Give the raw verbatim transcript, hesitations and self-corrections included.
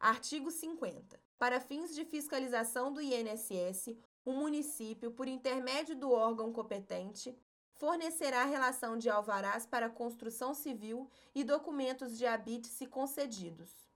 Artigo cinquenta. Para fins de fiscalização do I N S S, o município, por intermédio do órgão competente, fornecerá relação de alvarás para construção civil e documentos de habite-se concedidos.